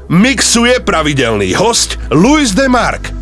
mixuje pravidelný hosť Luis de Mark.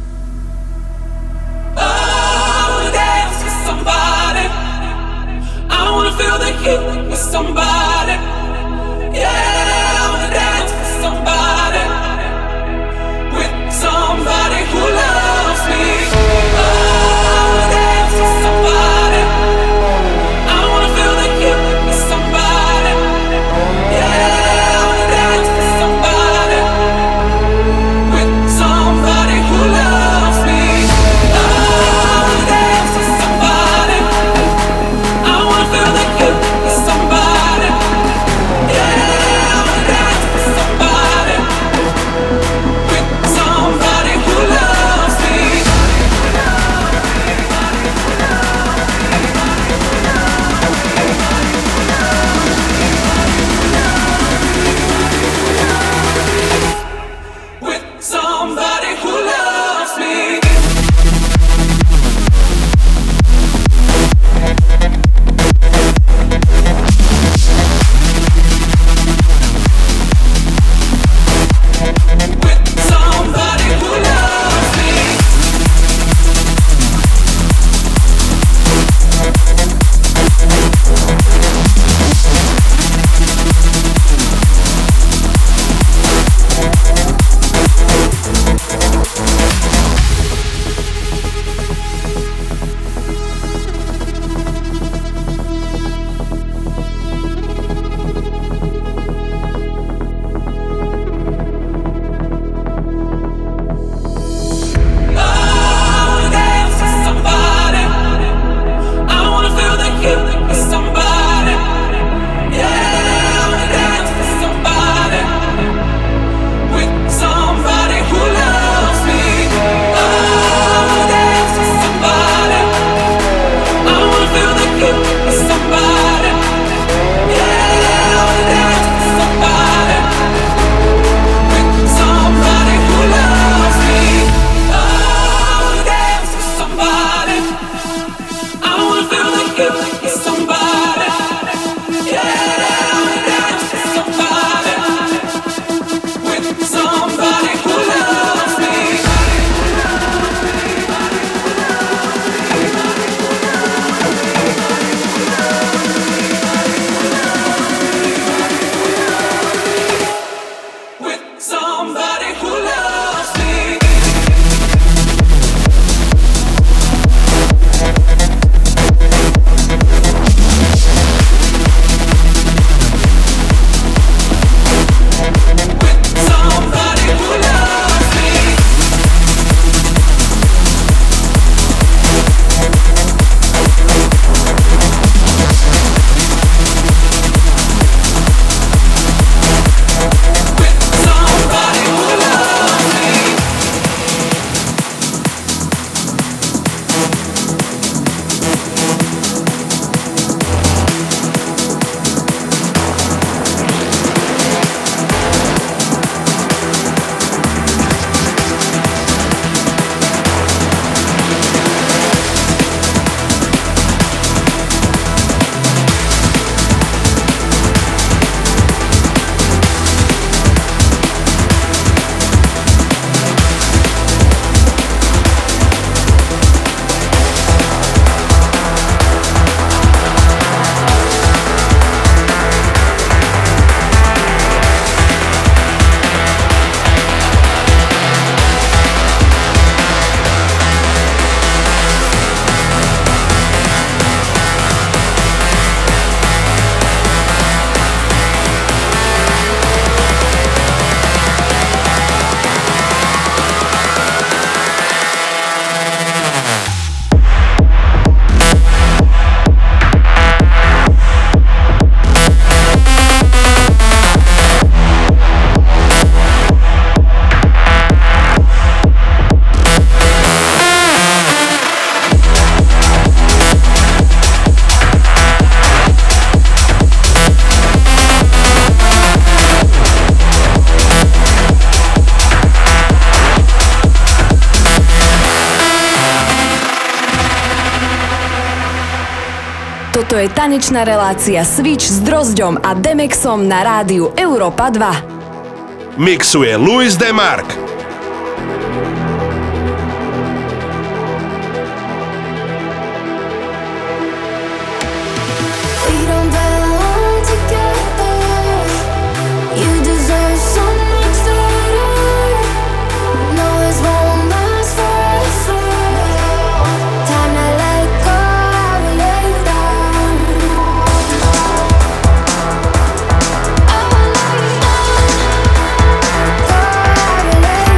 Toto je tanečná relácia Switch s Drozďom a Demexom na rádiu Európa 2. mixuje Luis DeMark. Lay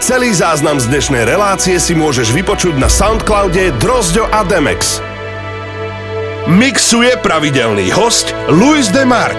Celý záznam z dnešnej relácie si môžeš vypočuť na Soundcloude Drozďo a Demex. Mixuje pravidelný host Luis DeMark.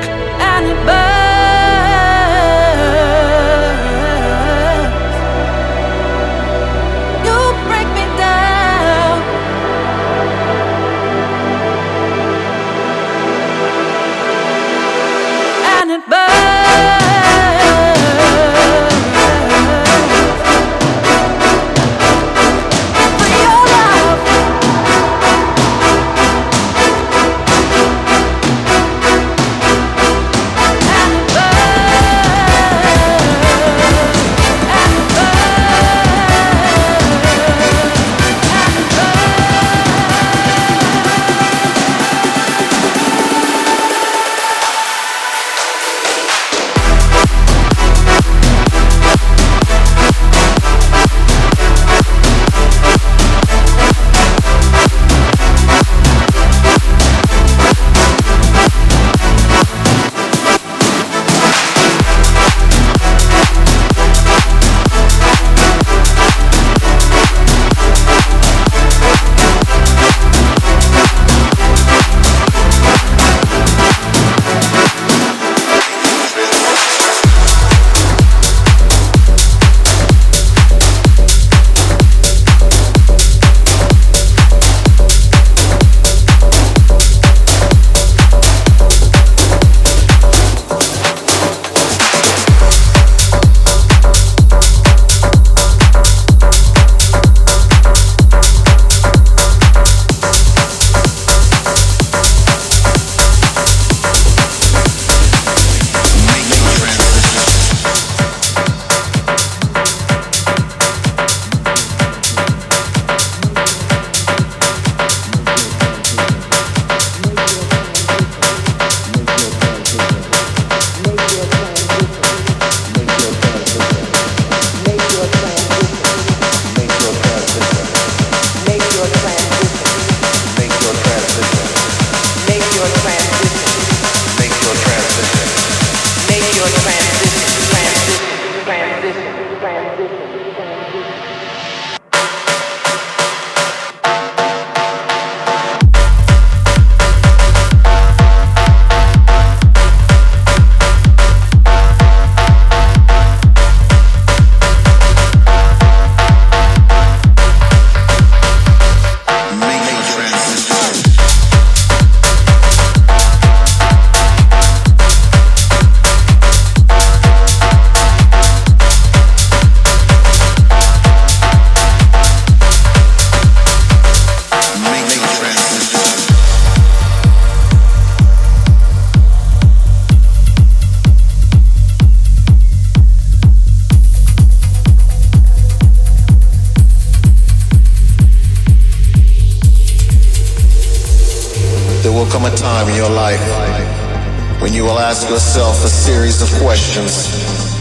Yourself a series of questions.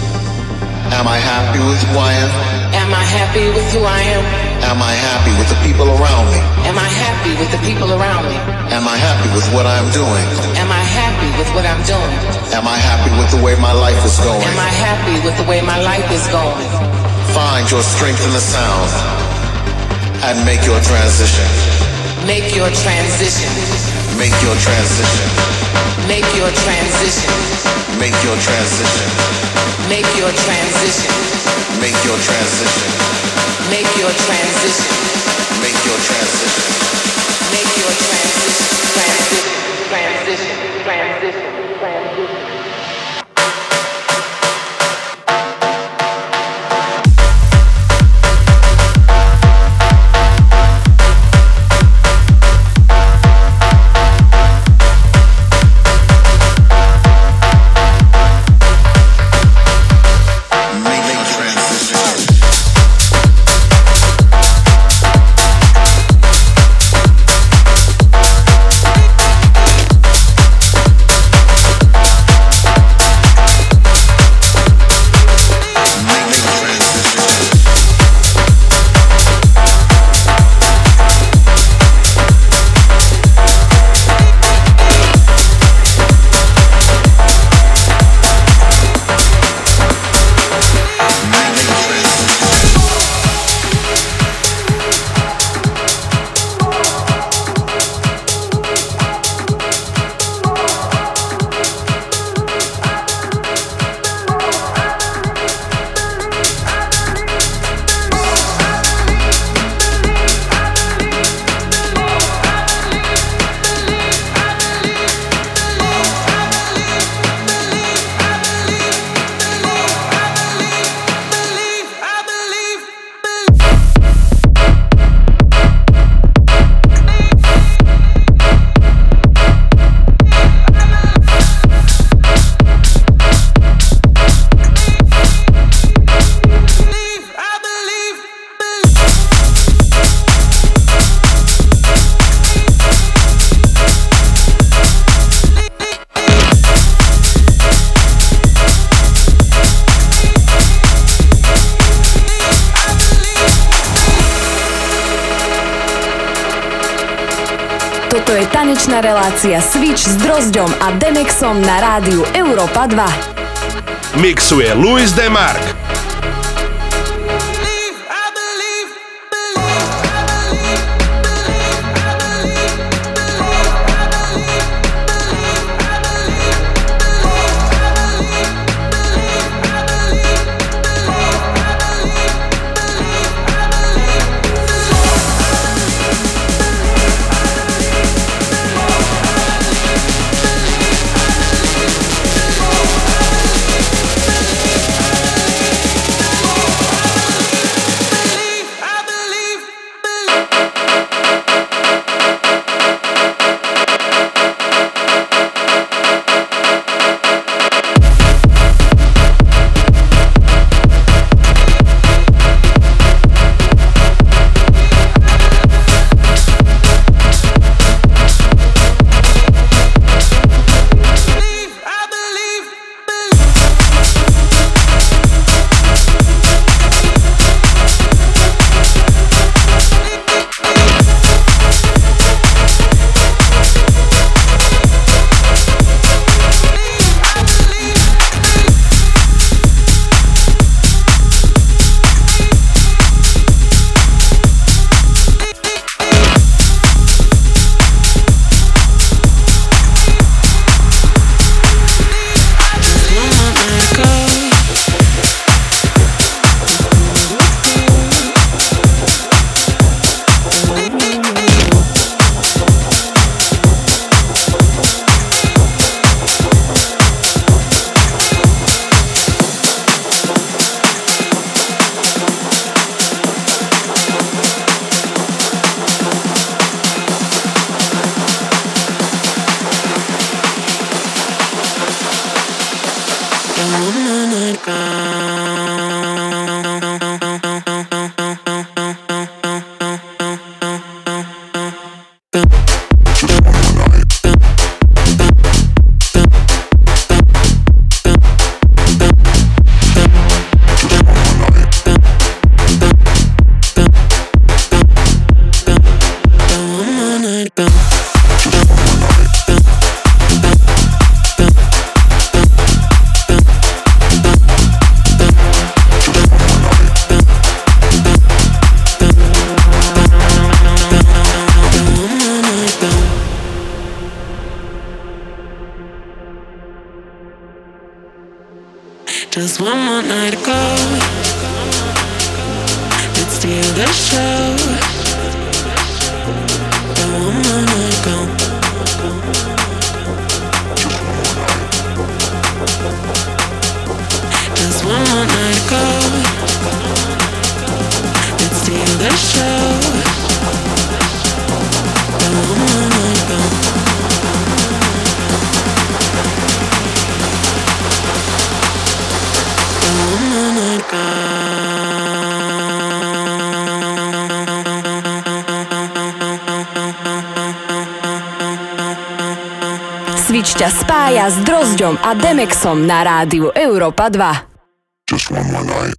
Am I happy with who I am? Am I happy with who I am? Am I happy with the people around me? Am I happy with the people around me? Am I happy with what I'm doing? Am I happy with what I'm doing? Am I happy with the way my life is going? Am I happy with the way my life is going? Find your strength in the sound and make your transition. Make your transition. Make your transition. Make your transition. Make your transition. Make your transition. Make your transition. Make your transition. Make your transition. Make your transition. Transition. Transition. Transition. tanečná relácia Switch s Drozďom a Demexom na rádiu Európa 2. Mixuje Luis Demark. Just one more night ago, let's steal the show. And one more night ago, just one more night ago, let's steal the show. And one more night ago. Switch ťa spája s Drozďom a Demexom na rádiu Európa 2. Just one more night.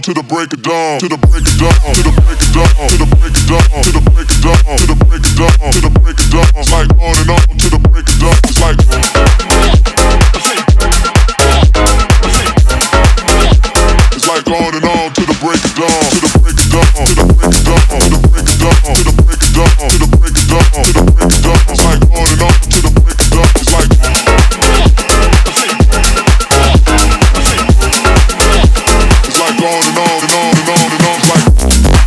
to the break of dawn, to the break of dawn, to the break of dawn, to the break of dawn, to the break of dawn, to the break of dawn, to the break of dawn. It's like on and on to the break of dawn. It's like it's like on and on to the break of dawn, to the break of dawn, to the break of dawn, to the break of dawn, to the break of dawn, to the break of dawn, to the break of dawn. It's like on and on to the break of dawn. It's like it's like on and on and on and on and on. It's like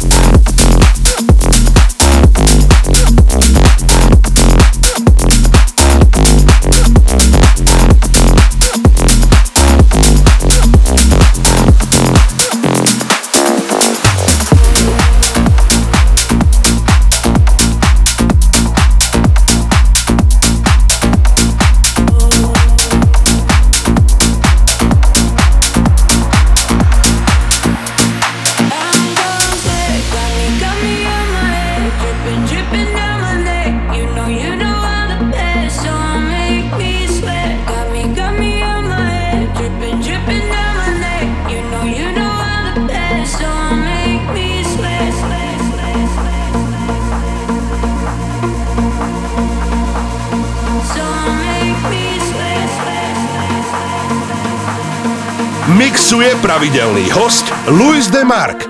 mixuje pravidelný host Luis DeMark.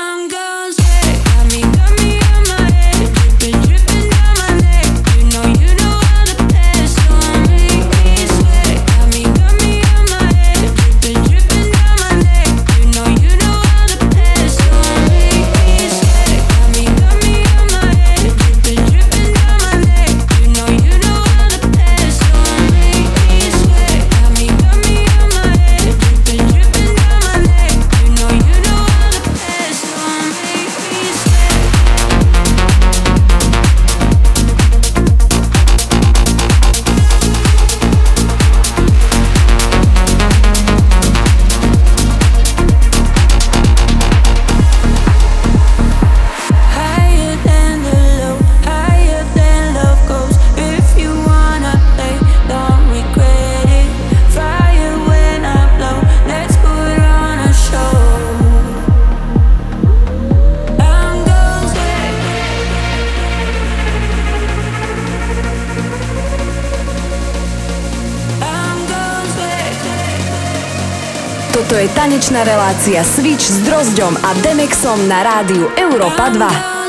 Toto je tanečná relácia Switch s Drozďom a Demexom na rádiu Európa 2.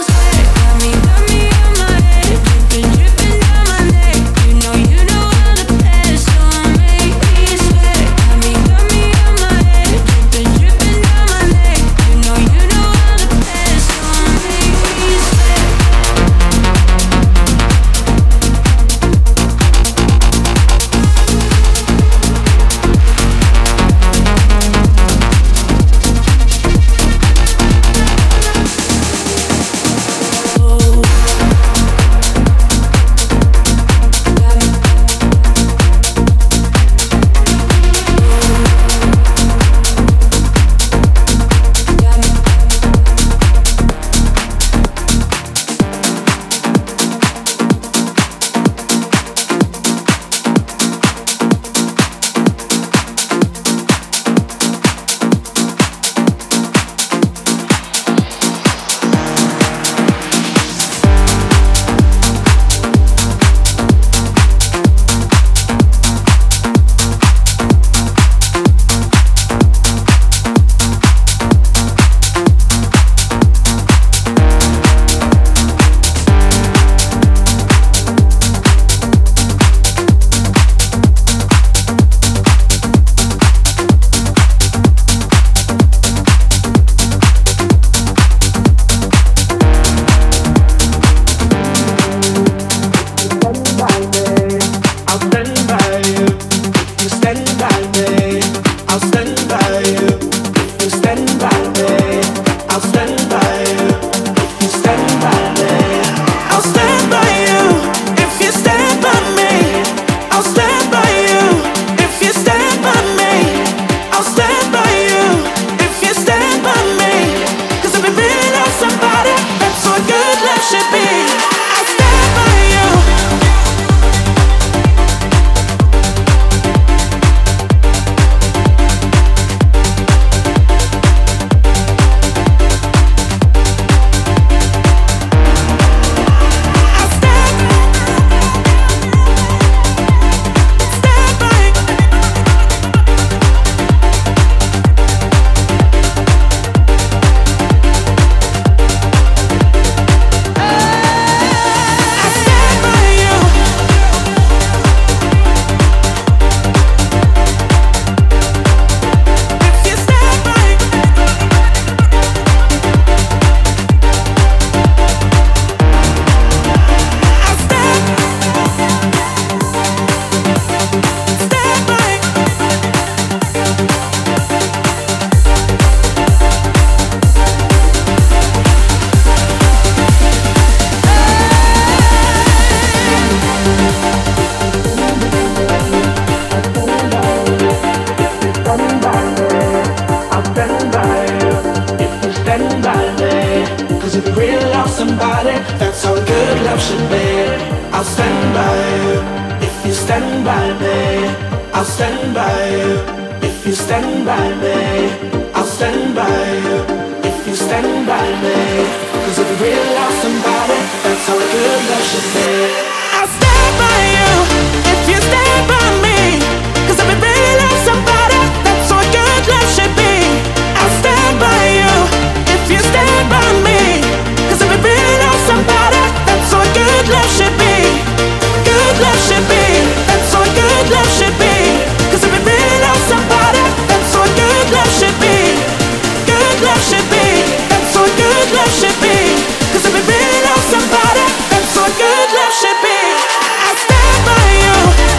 by you. If you stand by me, I'll stand by you. If you stand by me, I'll stand by you. If you stand by me, 'cause if you really love somebody, that's how a good love should be. I'll stand by you. If you stand by me, 'cause if you really love somebody, that's how a good love should be. I'll stand by you. If you stand by me, 'cause if you really love somebody, that's how a good love should be. Good love should be. That's how a good love should be. 'Cause if you really love somebody, that's how a good love should be. Good love should be. That's how a good love should be. 'Cause if you really love somebody, that's how a good love should be. I stand by you.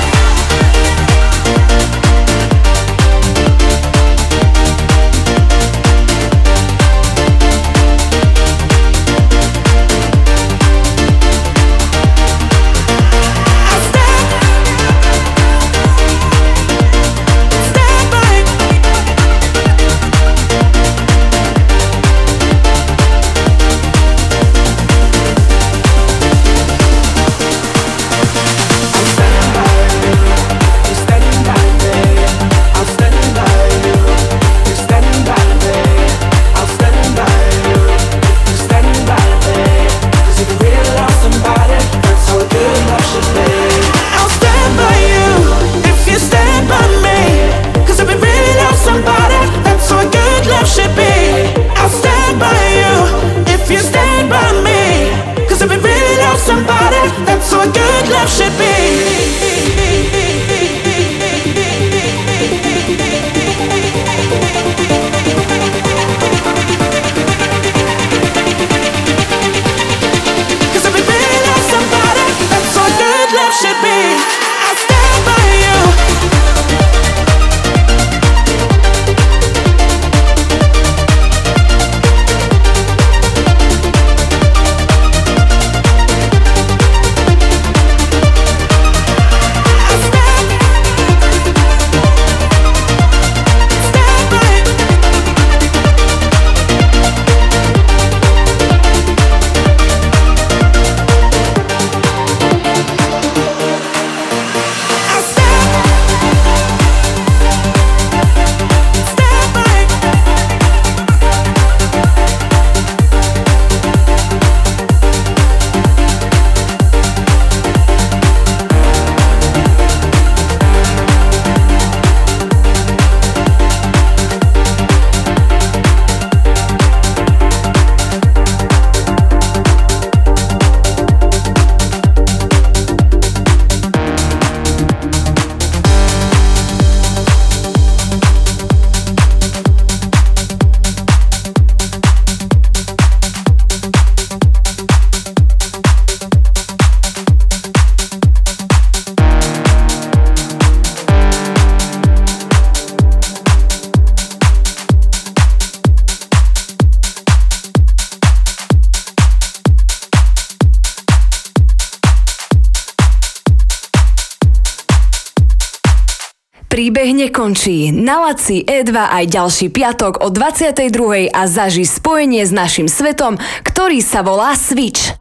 Príbeh nekončí. Naladí E2 aj ďalší piatok o 22:00 a zaži spojenie s našim svetom, ktorý sa volá Switch.